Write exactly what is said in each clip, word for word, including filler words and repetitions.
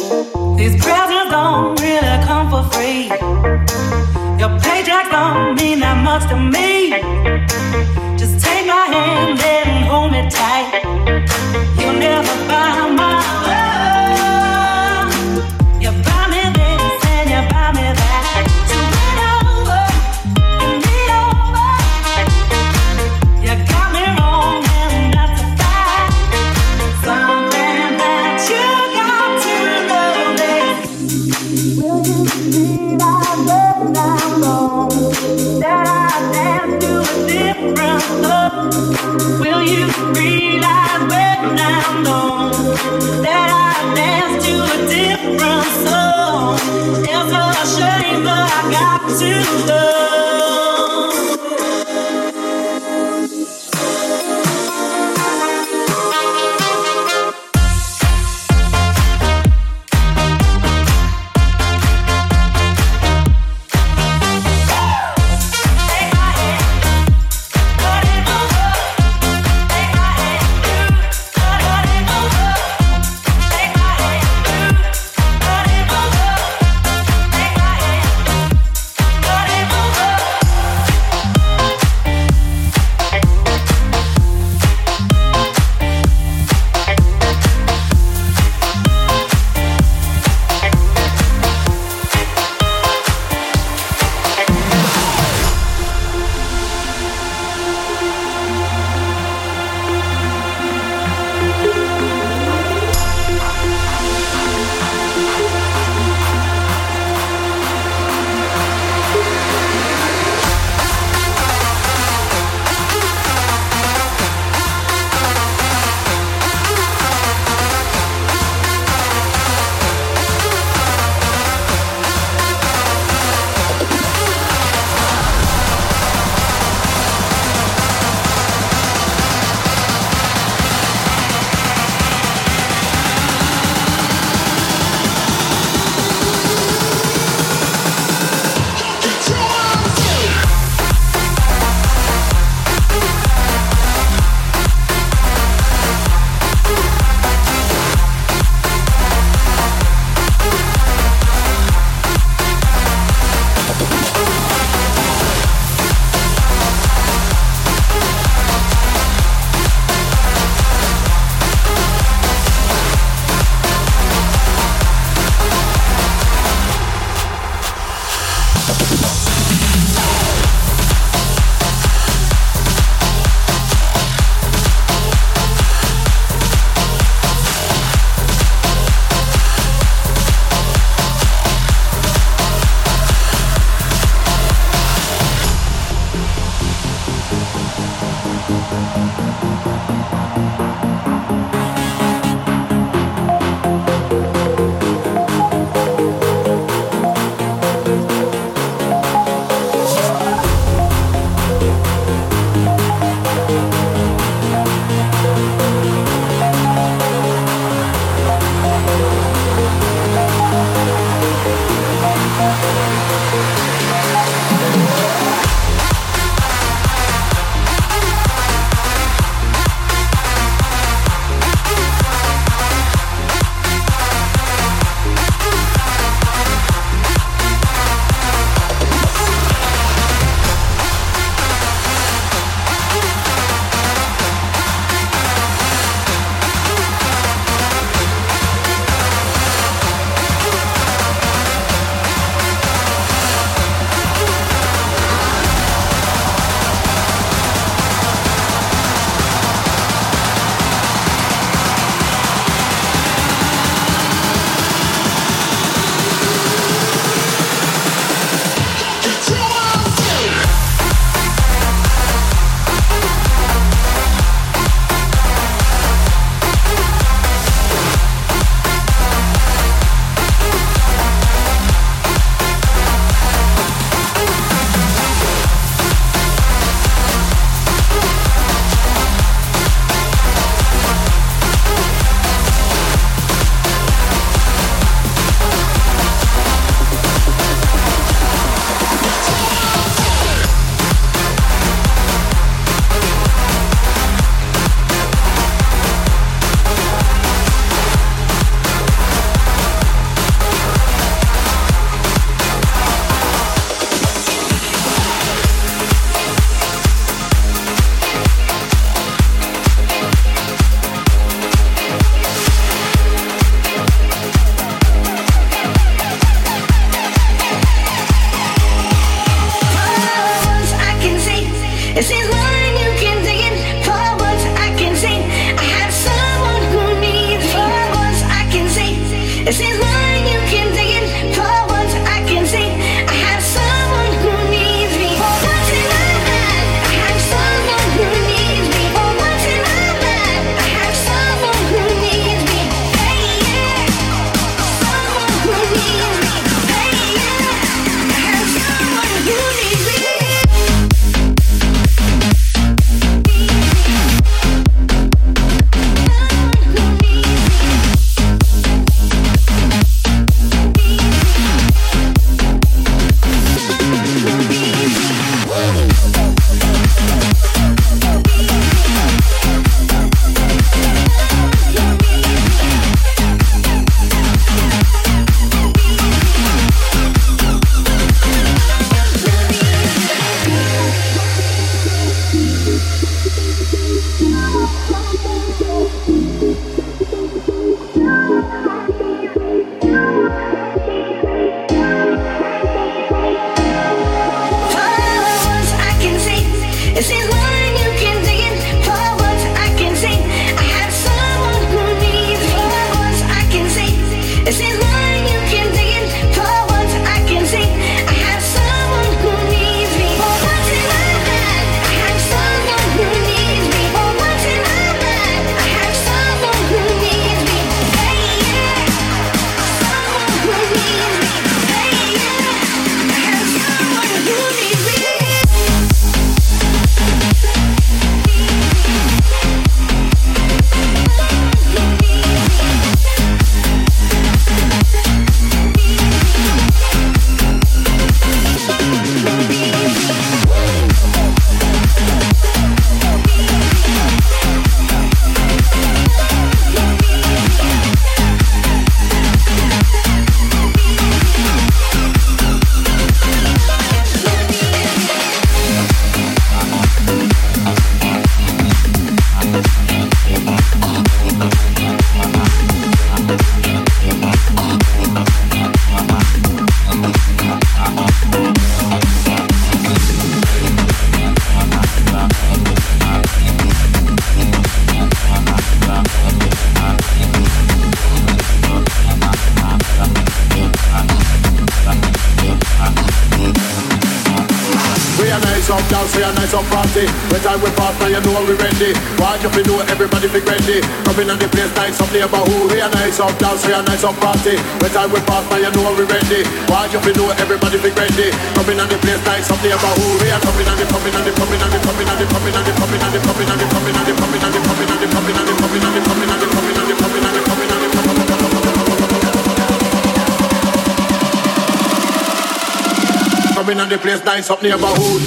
These presents don't really come for free. Your paycheck don't mean that much to me. Just take my hand and hold me tight. You'll never buy my love. You buy me this and you buy me that. So lean over, you lean over. You got me wrong and that's a fact. Something that you got to know is, will you realize when I'm gone that I dance to a different love? Will you realize when I'm gone that I dance to a different song? It's a shame, but I got to love. nice up party. When time we pass, now you know we ready. Watch if you know everybody be ready. Coming on the place, nice up neighborhood. We are nice up dance, we are nice up party. When time we pass, now you know we ready. Watch if you know everybody be ready. Coming on the place, nice up neighborhood. We are coming on the coming on the coming on the coming on the coming on the coming on the coming on the coming on the coming on the coming on the coming on the coming on the coming on the coming on the coming on the coming on the coming on the place, nice up neighborhood.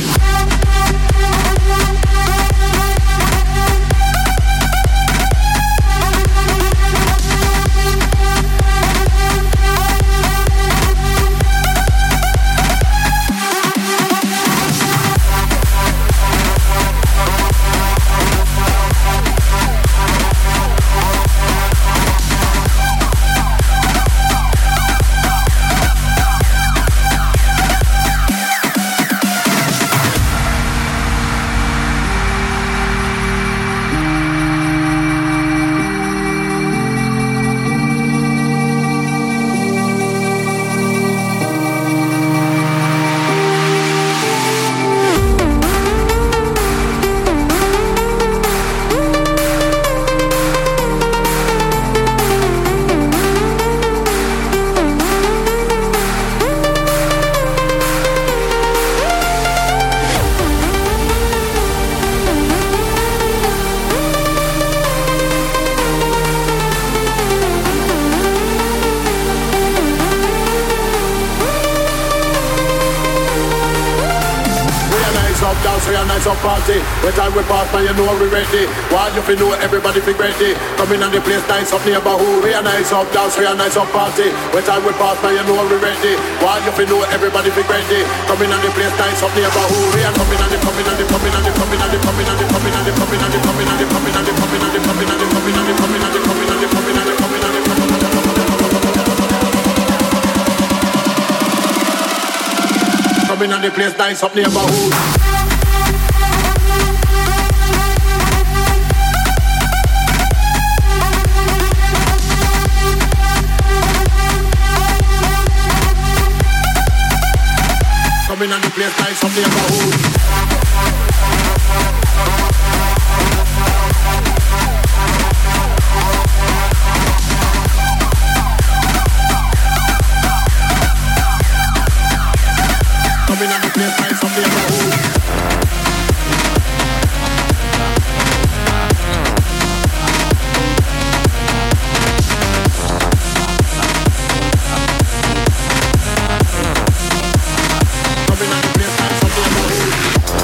When time we pass, now you know we ready. Watch if you know everybody be ready. Coming on the place, nice up neighborhood. We are nice up dance, we are nice up party. When time we pass, now you know we ready. Watch if you know everybody be ready. Coming on the place, nice up neighborhood. We are coming on the coming on the coming on the coming on the coming on the coming on the coming on the coming on the coming on the coming on the coming on the coming on the coming on the coming on the coming on the coming on the coming on the place, nice up neighborhood. Coming on the place, nice up neighborhood. Coming on the place, nice up neighborhood. Coming on the place, nice up neighborhood.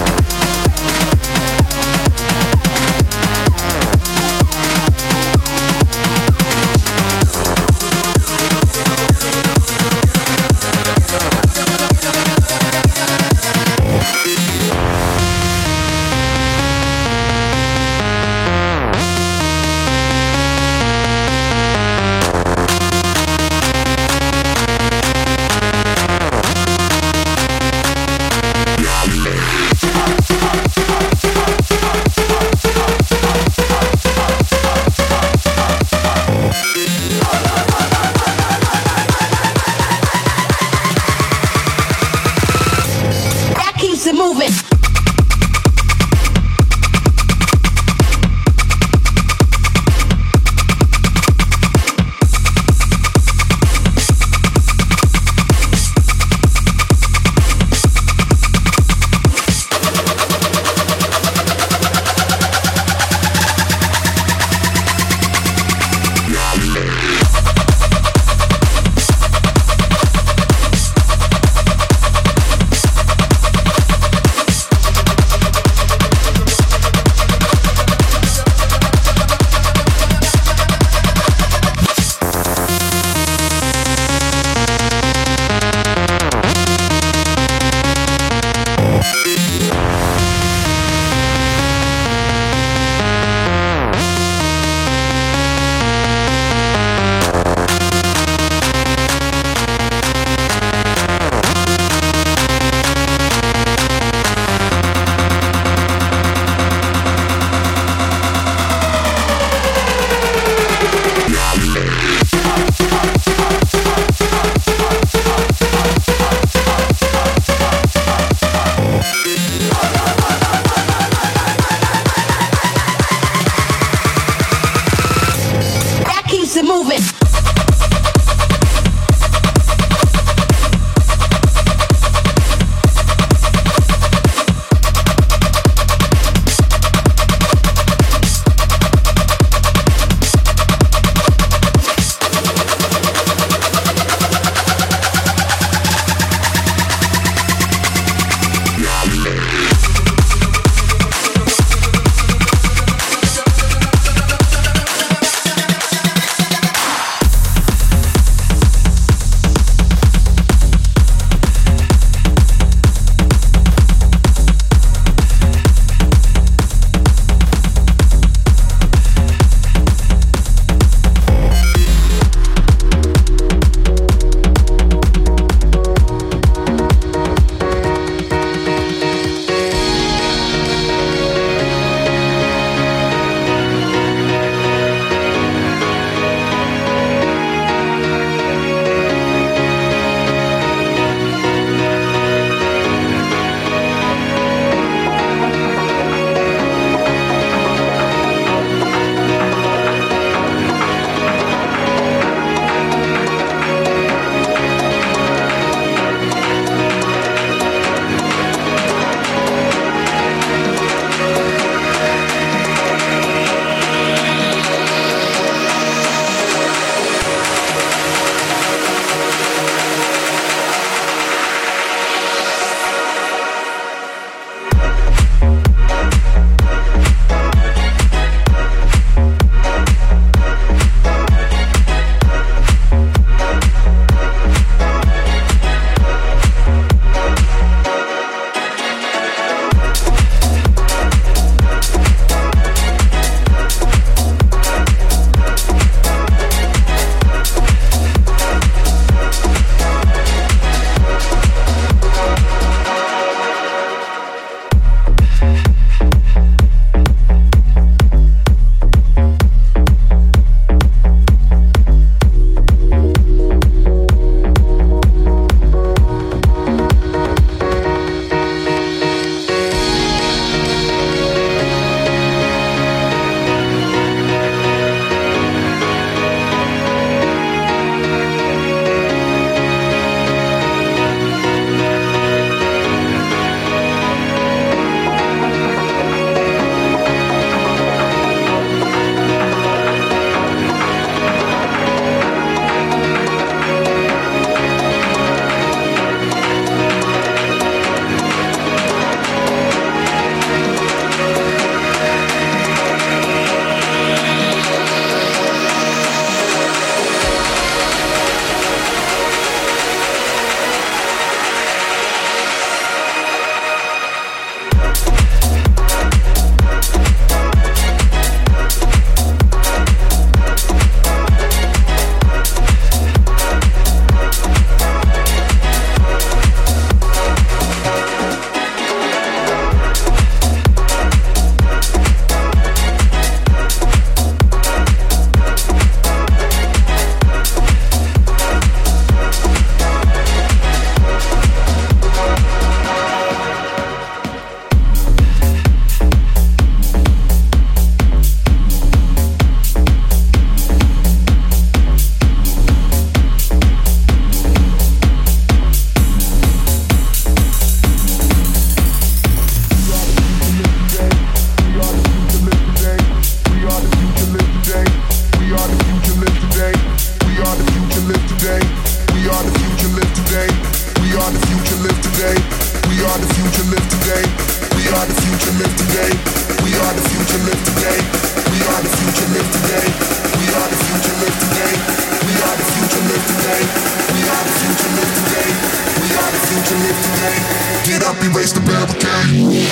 today. We are the future, live today. We are the future, live today. Get up, erase the barricade.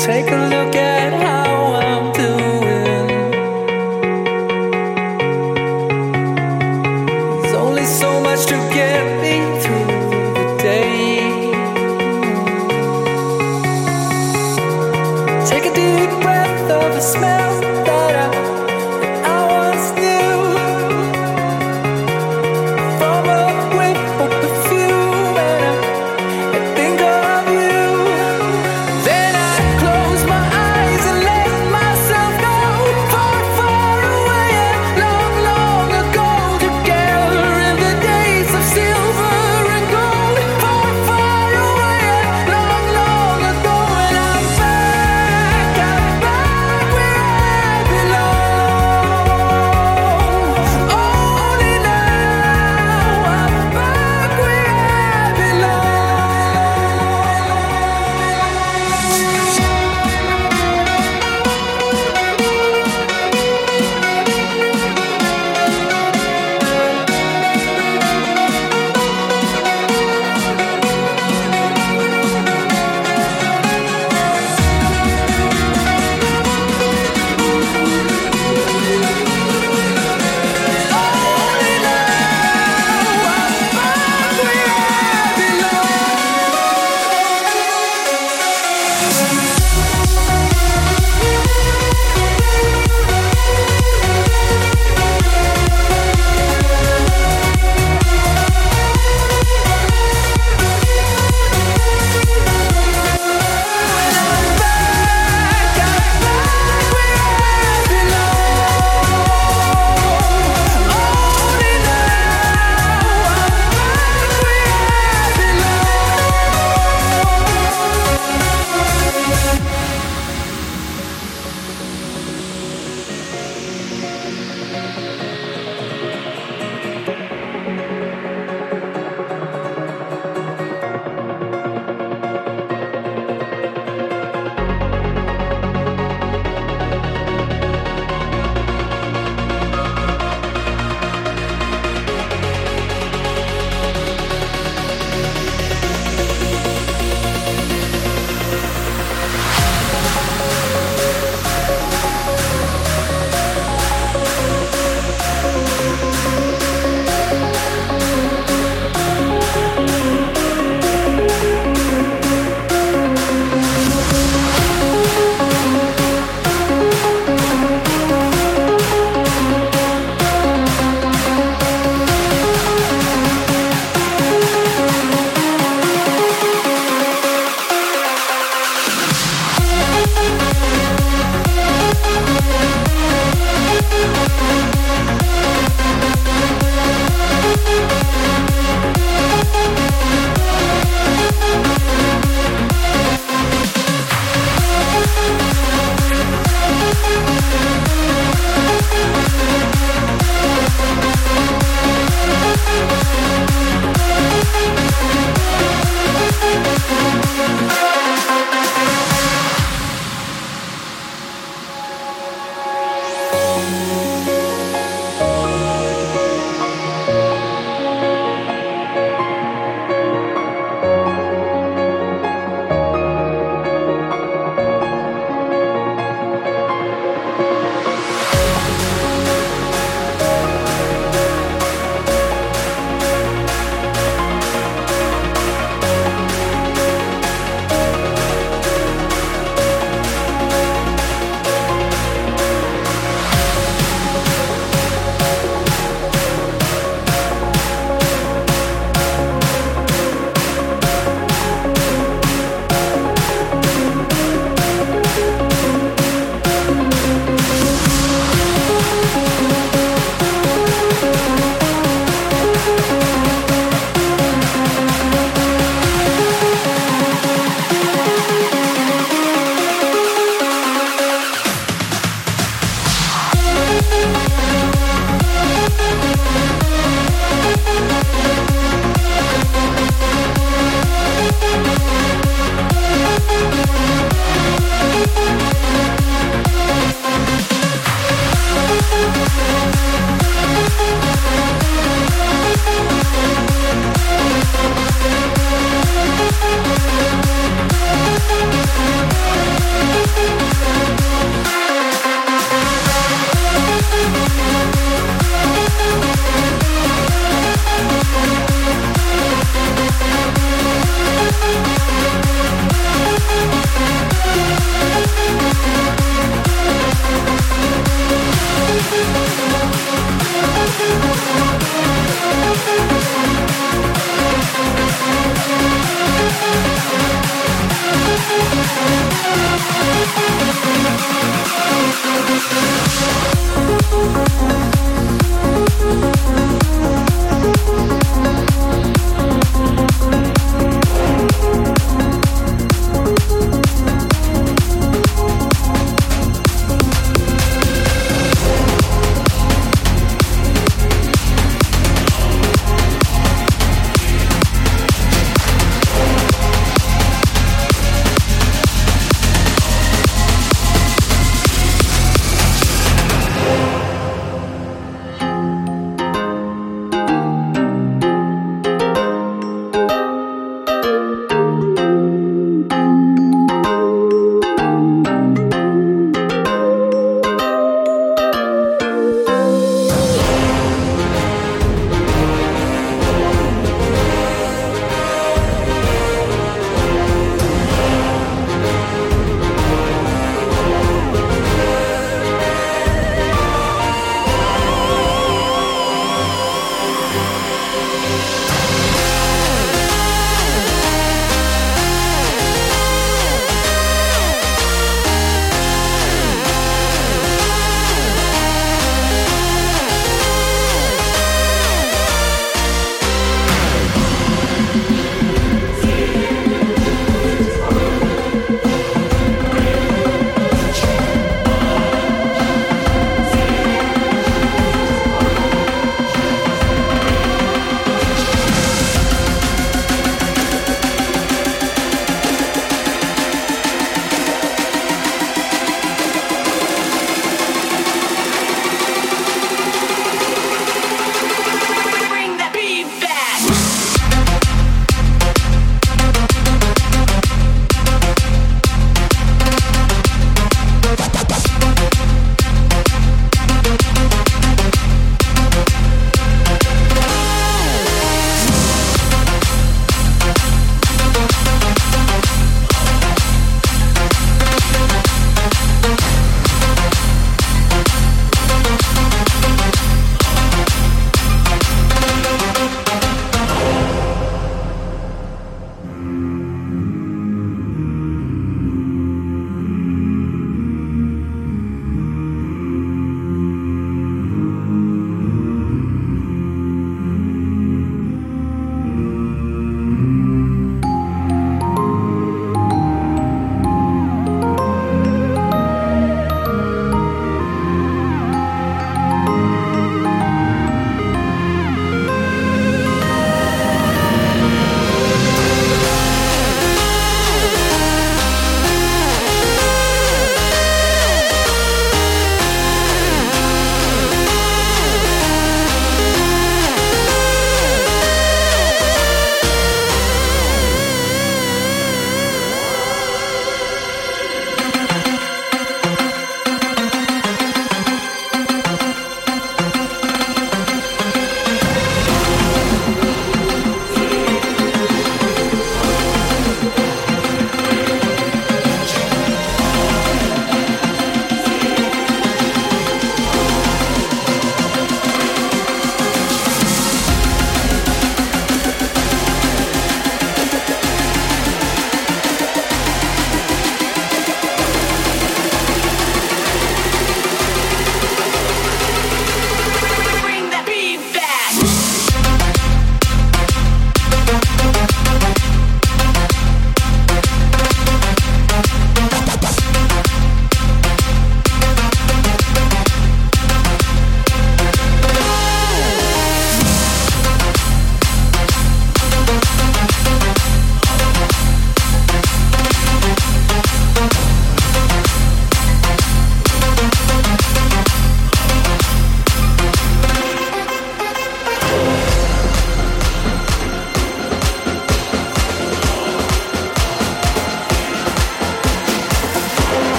Take a look at how I'm doing. There's only so much to get me through the day. Take a deep breath of the smell that I, that I once knew. From a whiff of perfume, and I, I think of you. Then I close my eyes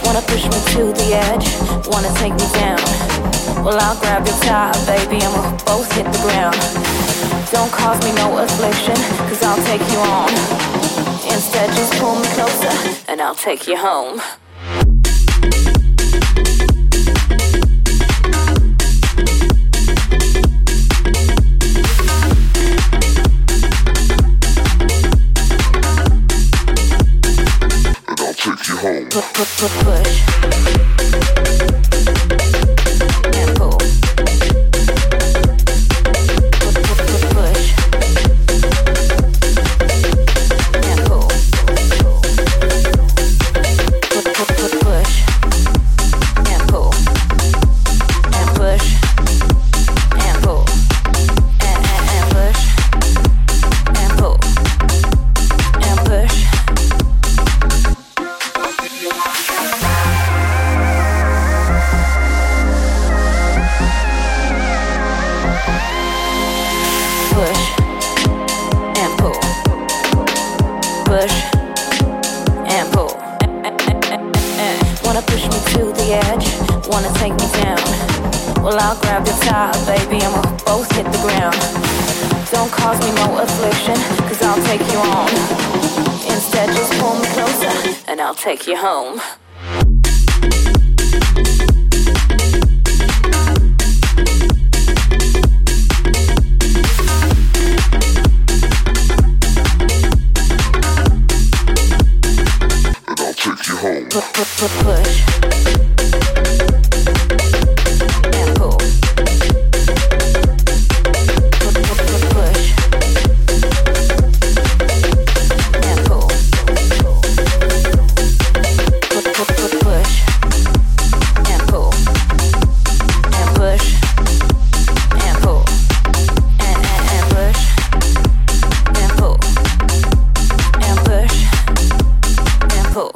Wanna push me to the edge, wanna take me down. Well, I'll grab your tie, baby, and we'll both hit the ground. Don't cause me no affliction, cause I'll take you on. Instead, just pull me closer, and I'll take you home. Take you home. Push, push, push, push. And pull. Push, push, push, push. And pull. Push, push, push, push. And pull. And push. And pull. And, and, and push. And pull. And push. Push and pull. Wanna push me to the edge, wanna take me down. Well, I'll grab your tie, baby, and we'll both hit the ground. Don't cause me no affliction, cause I'll take you on. Instead, just pull me closer, and I'll take you home. Take you home. Push, push, push, push. And pull. Push, push, push, push. And pull. Push, push, push, push. And pull. And push. And pull. And, and, and push. And pull. And push. And pull.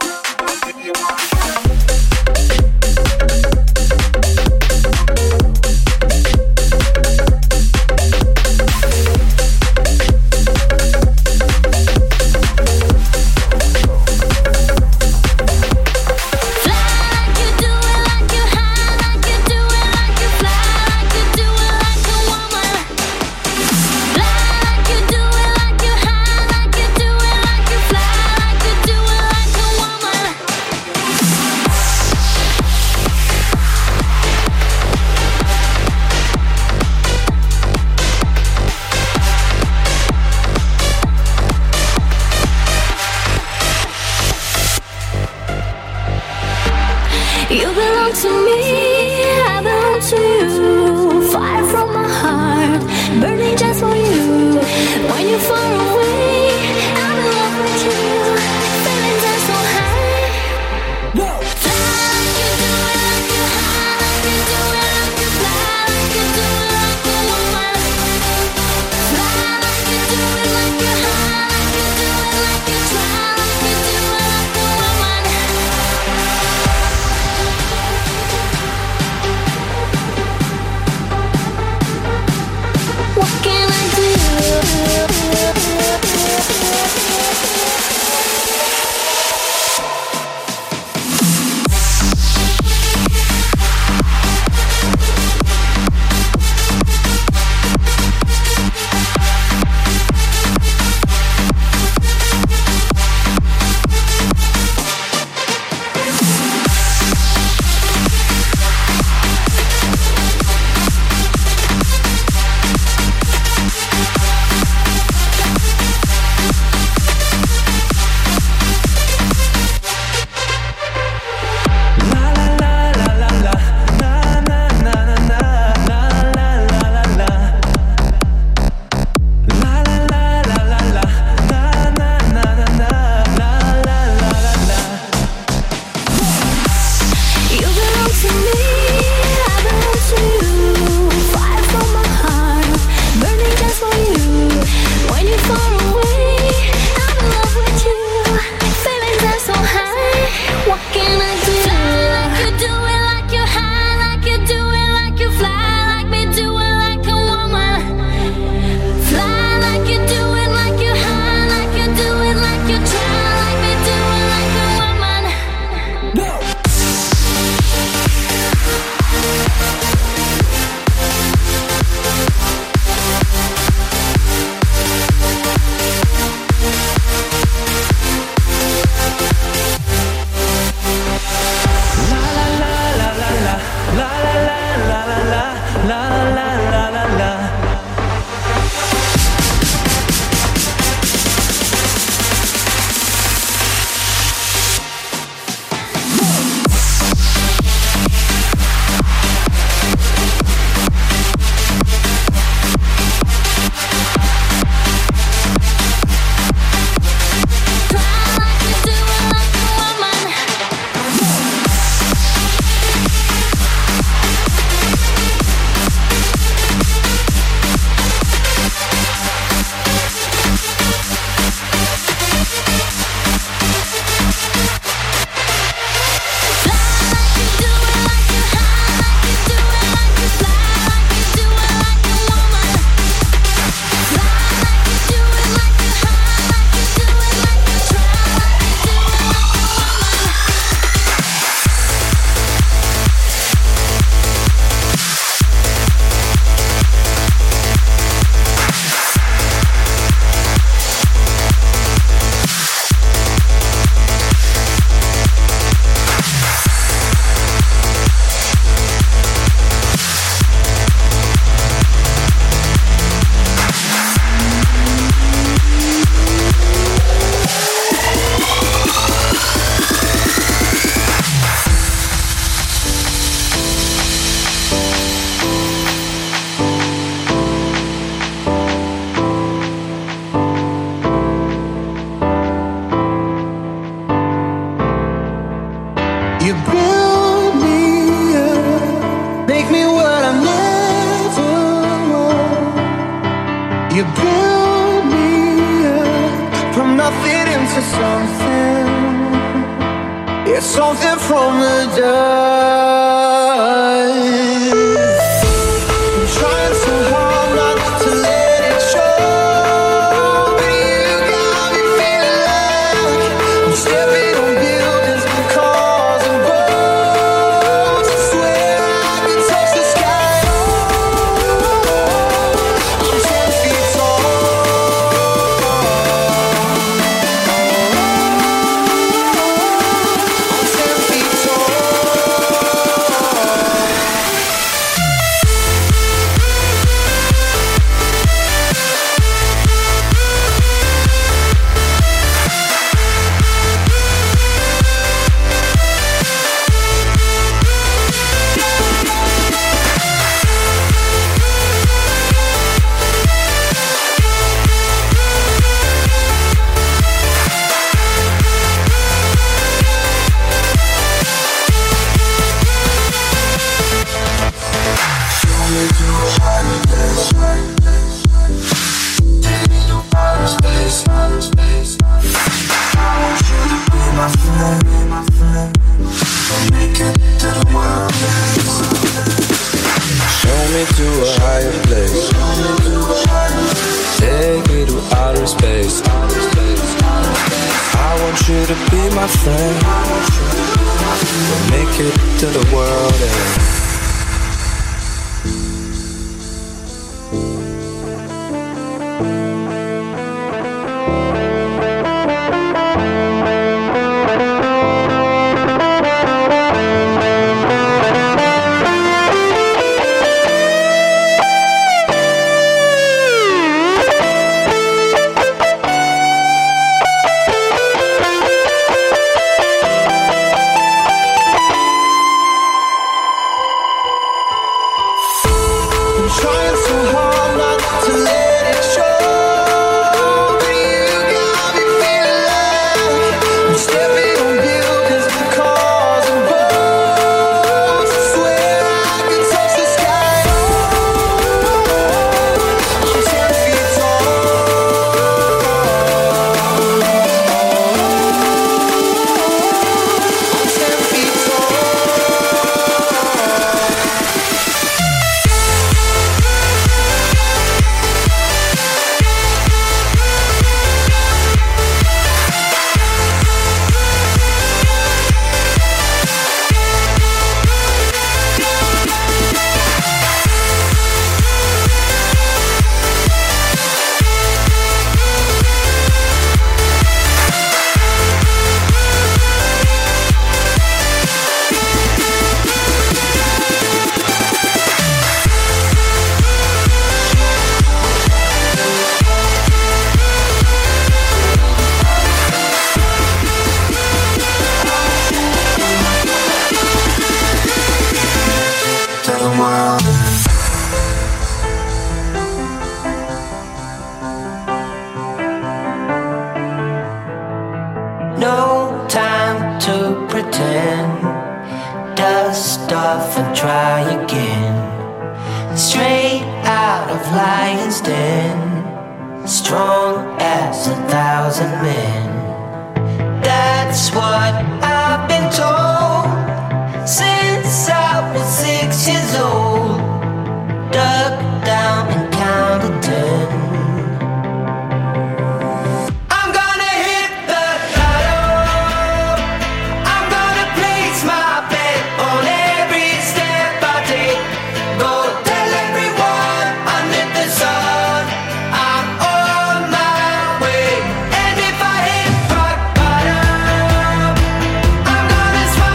You belong to me, I belong to you. Fire from my heart, burning just for you. When you're far away, I'm in love with you. Feelings are so high. Whoa. Fly like you do it, like you high, like you do it, like you fly, like you do it, like a woman. Fly like you do it, like you high, like you do it, like you try, like you do it, like a woman. You build me up from nothing into something. Yeah, something from the dust. I'm trying so hard not to let it show, but you got me feeling like I'm stepping on buildings, cars and boats. I swear I can touch the sky. I'm ten feet tall. I'm ten feet tall. Show me to a higher place. Take me to outer space. I want you to be my friend. We'll make it to the world end. I'm trying so hard not to let it show, but you got me feeling like I'm stepping on buildings, cars and boats. I swear I can touch the sky. I'm ten feet tall. I'm ten feet tall. No time to pretend. Dust off and try again. Straight out of Lion's Den. Strong as a thousand men. That's what I've been told since I was six years old. Dug down and counted ten. I'm gonna hit the lotto. I'm gonna place my bet on every step I take. Go tell everyone under the sun I'm on my way. And if I hit rock bottom, I'm gonna smile.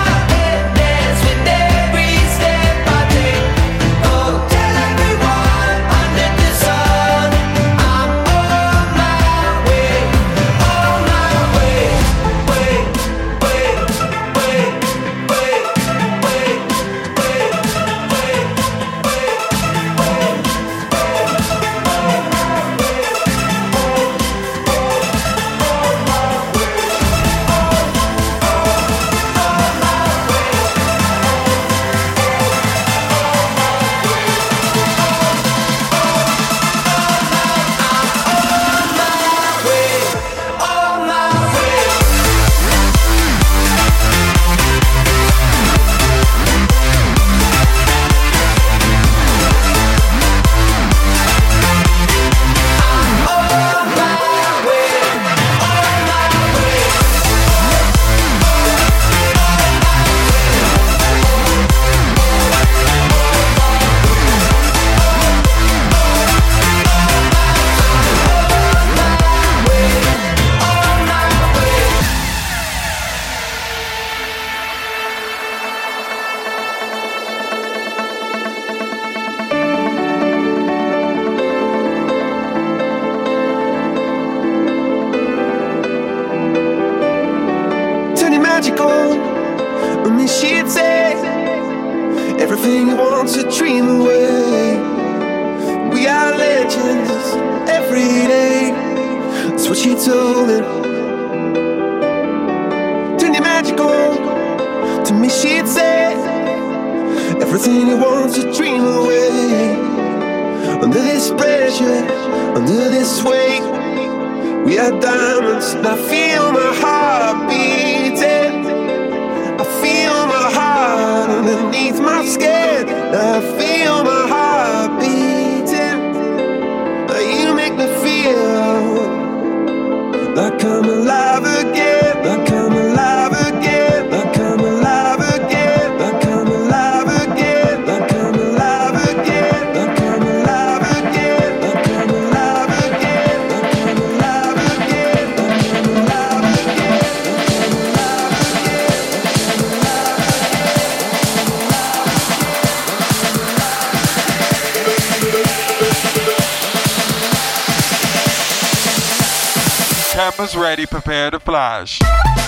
she'd say everything you want to dream away. We are legends every day. That's what she told me. Turn your magic on. To me she'd say everything you want to dream away. Under this pressure, under this weight, we are diamonds, and I feel my heart beating. I feel my heart underneath my skin. I feel my heart beating. You make me feel like I'm alive again, like I'm alive again, like I'm alive again, like I'm alive again, like I'm alive again, like I'm alive again, like I'm alive again, like I'm alive again, like I'm alive again, Cameras ready, prepare to flash.